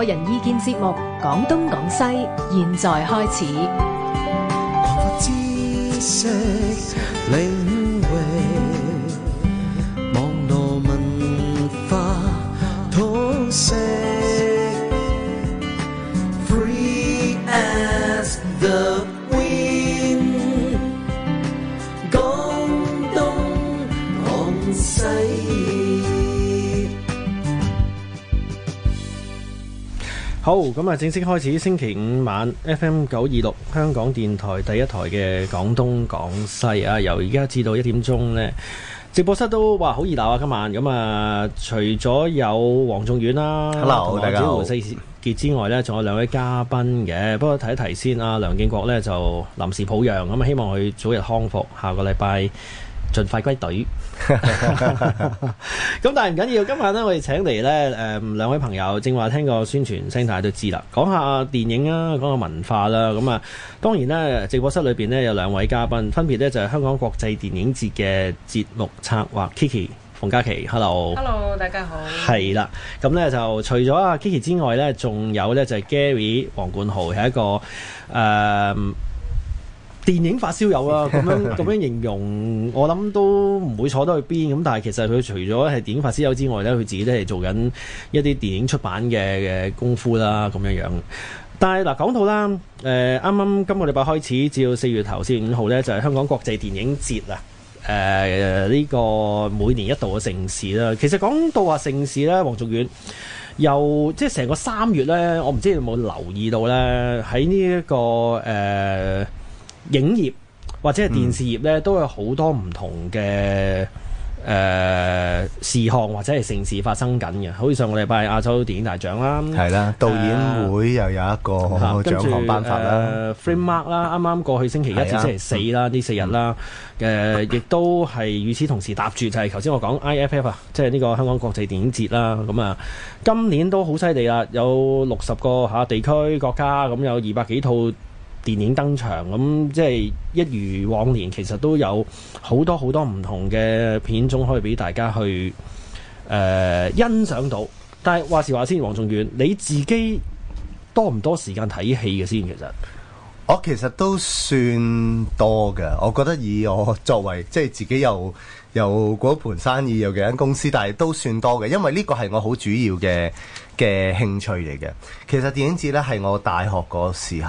個人意見節目《講東講西》，現在開始。 擴闊知識領域，網絡文化通識 ，Free as the wind， 講東講西。 好，咁啊，正式開始星期五晚 FM 926香港電台第一台嘅廣東廣西啊，由而家至到1點鐘呢，直播室都哇好熱鬧啊！今晚咁啊，除咗有黃仲遠啦，Hello，大家好，胡世傑之外呢，仲有兩位嘉賓嘅。不過提一提先啊，梁敬國呢就臨時抱恙，咁啊希望佢早日康復，下個禮拜盡快歸隊。咁但係唔緊要，今晚咧我哋請嚟咧兩位朋友，正話聽個宣傳聲帶都知啦，講下電影啊，講下文化啦。咁啊，當然咧直播室裏邊咧有兩位嘉賓，分別咧就係香港國際電影節嘅節目策劃 Kiki 馮嘉琪 ，Hello， 大家好。 係啦，咁咧就除咗阿 Kiki 之外咧，仲有咧就係 Gary 黃冠豪，係一個電影發燒友啊，咁樣形容，我諗都唔會錯得去邊。咁但係其實佢除咗係電影發燒友之外咧，佢自己都係做緊一啲電影出版嘅功夫啦，咁樣樣。但係嗱，講到啦，啱啱今個禮拜開始至到4月頭4月5號咧，就係香港國際電影節啊。呢個每年一度嘅盛事啦。其實講到話盛事咧，黃仲遠又即係成個3月咧，我唔知你有冇留意到咧，喺呢一個影業或者係電視業咧，都有好多唔同嘅事項或者係盛事發生緊嘅。好似上個禮拜亞洲電影大獎啦，係啦， 導演會又有一個獎項頒發啦 ，Framemark 啦，啱啱過去星期一至星期四啦，呢4日啦，亦都係與此同時搭住就係頭先我講 IFF 啊，即係呢個香港國際電影節啦。咁啊，今年都好犀利啦，有60個地區國家，咁有200幾套電影登場，咁即係一如往年，其實都有好多好多唔同嘅片種可以俾大家去欣賞到。但係話時話先，黃仲遠，你自己多唔多時間睇戲嘅先？其實我其實都算多嘅，我覺得以我作為即係自己又嗰盤生意又幾間公司，但係都算多嘅，因為呢個係我好主要嘅興趣嚟嘅。其實電影節呢係我大學嗰時